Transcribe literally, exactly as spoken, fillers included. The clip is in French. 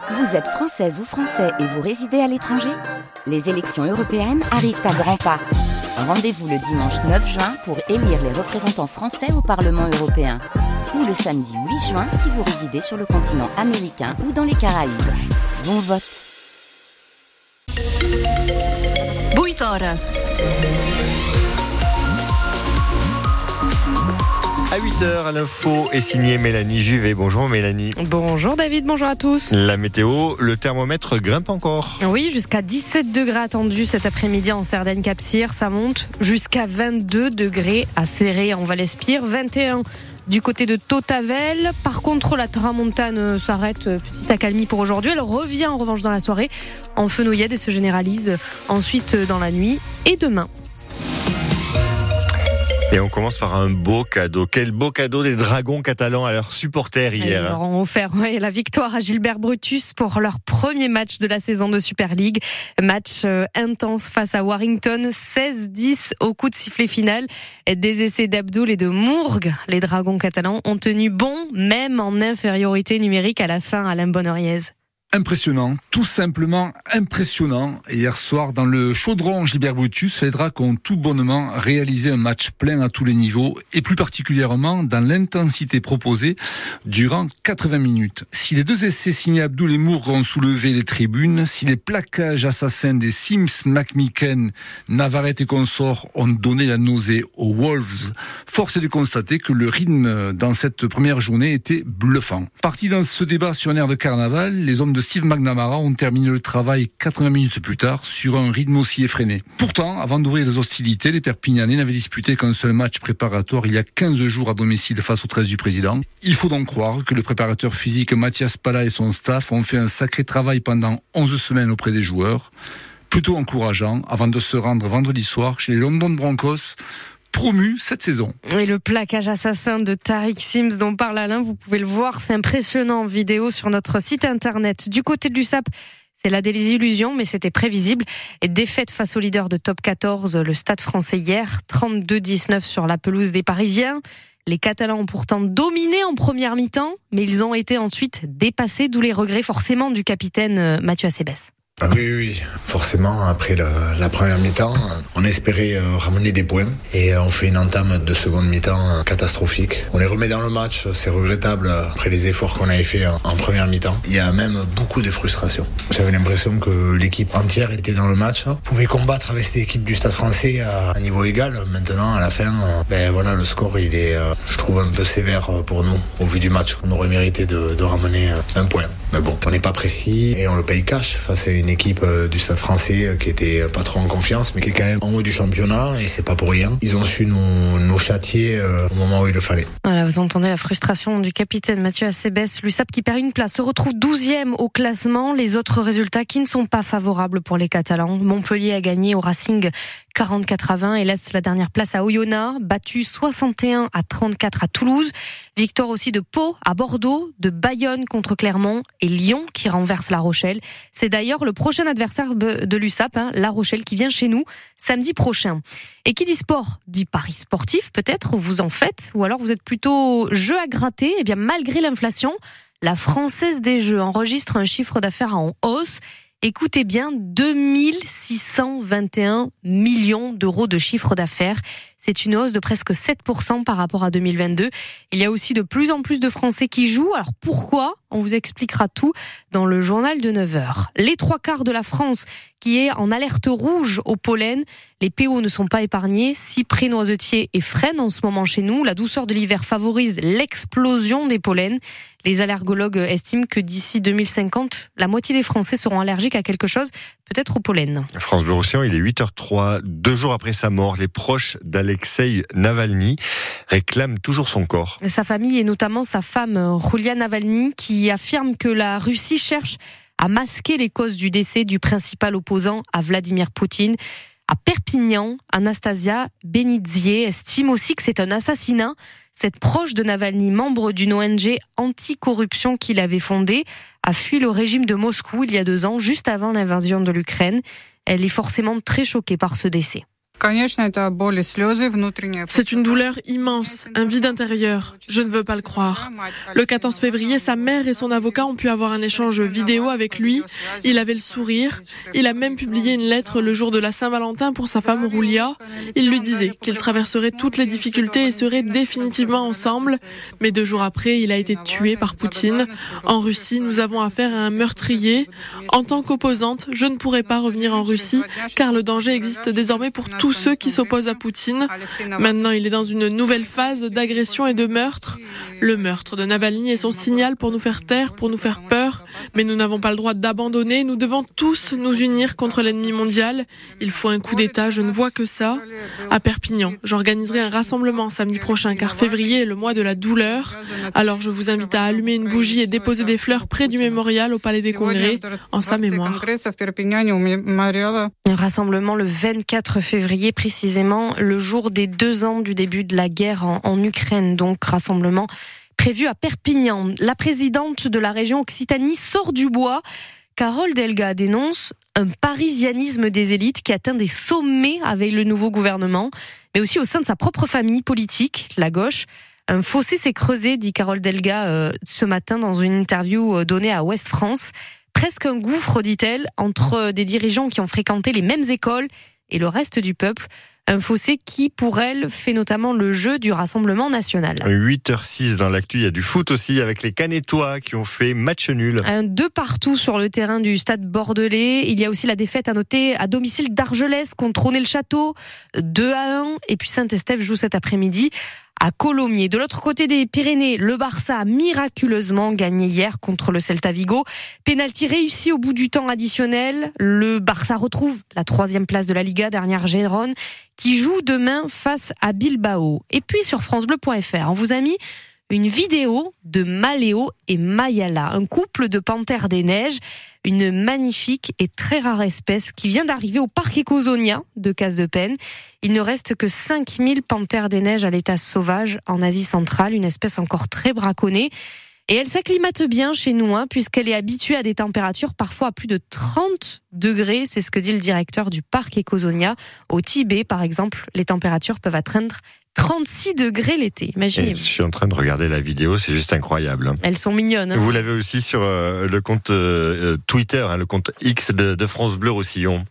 Vous êtes française ou français et vous résidez à l'étranger ? Les élections européennes arrivent à grands pas. Rendez-vous le dimanche neuf juin pour élire les représentants français au Parlement européen. Ou le samedi huit juin si vous résidez sur le continent américain ou dans les Caraïbes. Bon vote. oito horas. À huit heures, à l'info est signée Mélanie Juvet. Bonjour Mélanie. Bonjour David, bonjour à tous. La météo, le thermomètre grimpe encore. Oui, jusqu'à dix-sept degrés attendus cet après-midi en Cerdagne-Capcir. Ça monte jusqu'à vingt-deux degrés à Céré en Val-Espire. vingt et un du côté de Tautavel. Par contre, la tramontane s'arrête, petite accalmie pour aujourd'hui. Elle revient en revanche dans la soirée en fenouillade et se généralise ensuite dans la nuit et demain. Et on commence par un beau cadeau. Quel beau cadeau des Dragons catalans à leurs supporters hier. Ils leur ont offert ouais, la victoire à Gilbert Brutus pour leur premier match de la saison de Super League. Match euh, intense face à Warrington, seize dix au coup de sifflet final. Des essais d'Abdoul et de Mourgue. Les Dragons catalans ont tenu bon, même en infériorité numérique à la fin, Alain Bonneriez. Impressionnant, tout simplement impressionnant. Hier soir, dans le chaudron Gilbert Brutus, les Dracs ont tout bonnement réalisé un match plein à tous les niveaux et plus particulièrement dans l'intensité proposée durant quatre-vingts minutes. Si les deux essais signés Abdoul et Mourgue ont soulevé les tribunes, si les plaquages assassins des Sims, McMicken, Navarrete et consorts ont donné la nausée aux Wolves, force est de constater que le rythme dans cette première journée était bluffant. Parti dans ce débat sur un air de carnaval, les hommes de Steve McNamara ont terminé le travail quatre-vingts minutes plus tard sur un rythme aussi effréné. Pourtant, avant d'ouvrir les hostilités, les Perpignanais n'avaient disputé qu'un seul match préparatoire il y a quinze jours à domicile face au treize du président. Il faut donc croire que le préparateur physique Mathias Pala et son staff ont fait un sacré travail pendant onze semaines auprès des joueurs. Plutôt encourageant avant de se rendre vendredi soir chez les London Broncos, promu cette saison. Et le plaquage assassin de Tariq Sims dont parle Alain, vous pouvez le voir, c'est impressionnant en vidéo sur notre site internet. Du côté de l'U S A P, c'est la désillusion, mais c'était prévisible. Et défaite face au leader de top quatorze, le Stade français hier, trente-deux dix-neuf sur la pelouse des Parisiens. Les Catalans ont pourtant dominé en première mi-temps, mais ils ont été ensuite dépassés, d'où les regrets forcément du capitaine Mathieu Acebes. Ah oui, oui, forcément, après la, la première mi-temps, on espérait euh, ramener des points et euh, on fait une entame de seconde mi-temps euh, catastrophique. On les remet dans le match, c'est regrettable euh, après les efforts qu'on avait fait en, en première mi-temps. Il y a même beaucoup de frustration. J'avais l'impression que l'équipe entière était dans le match, hein, pouvait combattre avec cette équipe du Stade français à un niveau égal. Maintenant, à la fin, euh, ben voilà, le score, il est, euh, je trouve, un peu sévère pour nous au vu du match. On aurait mérité de, de ramener euh, un point. Mais bon, on n'est pas précis et on le paye cash face à une équipe du Stade français qui était pas trop en confiance mais qui est quand même en haut du championnat et c'est pas pour rien. Ils ont su nous, nous châtier au moment où il le fallait. Voilà, vous entendez la frustration du capitaine Mathieu Acebes. L'U S A P qui perd une place se retrouve douzième au classement. Les autres résultats qui ne sont pas favorables pour les Catalans. Montpellier a gagné au Racing quarante-quatre à vingt et laisse la dernière place à Oyonnax, battu soixante et un à trente-quatre à Toulouse. Victoire aussi de Pau à Bordeaux, de Bayonne contre Clermont et Lyon qui renverse La Rochelle. C'est d'ailleurs le prochain adversaire de l'U S A P, hein, La Rochelle, qui vient chez nous samedi prochain. Et qui dit sport dit paris sportif, peut-être, vous en faites, ou alors vous êtes plutôt jeu à gratter. Eh bien, malgré l'inflation, la Française des Jeux enregistre un chiffre d'affaires en hausse. Écoutez bien, deux mille six cent vingt et un millions d'euros de chiffre d'affaires. C'est une hausse de presque sept pour cent par rapport à deux mille vingt-deux. Il y a aussi de plus en plus de Français qui jouent. Alors pourquoi ? On vous expliquera tout dans le journal de neuf heures. Les trois quarts de la France qui est en alerte rouge au pollen. Les P O ne sont pas épargnés. Cyprès, noisetier et frêne en ce moment chez nous. La douceur de l'hiver favorise l'explosion des pollens. Les allergologues estiment que d'ici deux mille cinquante, la moitié des Français seront allergiques à quelque chose, peut-être au pollen. France Bleu Roussillon, il est huit heures trois. Deux jours après sa mort, les proches d'Alexeï Navalny réclament toujours son corps. Sa famille et notamment sa femme, Yulia Navalny, qui affirme que la Russie cherche à masquer les causes du décès du principal opposant à Vladimir Poutine. À Perpignan, Anastasia Benidzier estime aussi que c'est un assassinat. Cette proche de Navalny, membre d'une O N G anti-corruption qu'il avait fondée, a fui le régime de Moscou il y a deux ans, juste avant l'invasion de l'Ukraine. Elle est forcément très choquée par ce décès. C'est une douleur immense, un vide intérieur. Je ne veux pas le croire. Le quatorze février, sa mère et son avocat ont pu avoir un échange vidéo avec lui. Il avait le sourire. Il a même publié une lettre le jour de la Saint-Valentin pour sa femme Roulia. Il lui disait qu'ils traverseraient toutes les difficultés et seraient définitivement ensemble. Mais deux jours après, il a été tué par Poutine. En Russie, nous avons affaire à un meurtrier. En tant qu'opposante, je ne pourrai pas revenir en Russie car le danger existe désormais pour tous ceux qui s'opposent à Poutine. Maintenant, il est dans une nouvelle phase d'agression et de meurtre. Le meurtre de Navalny est son signal pour nous faire taire, pour nous faire peur. Mais nous n'avons pas le droit d'abandonner. Nous devons tous nous unir contre l'ennemi mondial. Il faut un coup d'État, je ne vois que ça. À Perpignan, j'organiserai un rassemblement samedi prochain car février est le mois de la douleur. Alors je vous invite à allumer une bougie et déposer des fleurs près du mémorial au Palais des Congrès en sa mémoire. Un rassemblement le vingt-quatre février, précisément le jour des deux ans du début de la guerre en, en Ukraine. Donc rassemblement prévu à Perpignan. La présidente de la région Occitanie sort du bois. Carole Delga dénonce un parisianisme des élites qui atteint des sommets avec le nouveau gouvernement, mais aussi au sein de sa propre famille politique, la gauche. Un fossé s'est creusé, dit Carole Delga euh, ce matin dans une interview donnée à Ouest France. Presque un gouffre, dit-elle, entre des dirigeants qui ont fréquenté les mêmes écoles et le reste du peuple. Un fossé qui, pour elle, fait notamment le jeu du Rassemblement national. huit heures six dans l'actu, il y a du foot aussi avec les Canétois qui ont fait match nul. Un deux partout sur le terrain du stade bordelais. Il y a aussi la défaite à noter à domicile d'Argelès contre Trônay-le-Château, deux à un. Et puis Saint-Estèphe joue cet après-midi à Colomiers. De l'autre côté des Pyrénées, le Barça a miraculeusement gagné hier contre le Celta Vigo. Pénalty réussi au bout du temps additionnel. Le Barça retrouve la troisième place de la Liga, dernière Gérone, qui joue demain face à Bilbao. Et puis sur francebleu point f r, on vous a mis une vidéo de Maléo et Mayala, un couple de panthères des neiges, une magnifique et très rare espèce qui vient d'arriver au parc Ecosonia de Case-de-Pène. Il ne reste que cinq mille panthères des neiges à l'état sauvage en Asie centrale, une espèce encore très braconnée. Et elle s'acclimate bien chez nous, hein, puisqu'elle est habituée à des températures parfois à plus de trente degrés. C'est ce que dit le directeur du parc Ecosonia. Au Tibet, par exemple, les températures peuvent atteindre trente-six degrés l'été, imaginez-vous. Je suis en train de regarder la vidéo, c'est juste incroyable. Elles sont mignonnes. Hein. Vous l'avez aussi sur euh, le compte euh, Twitter, hein, le compte X de, de France Bleu Roussillon.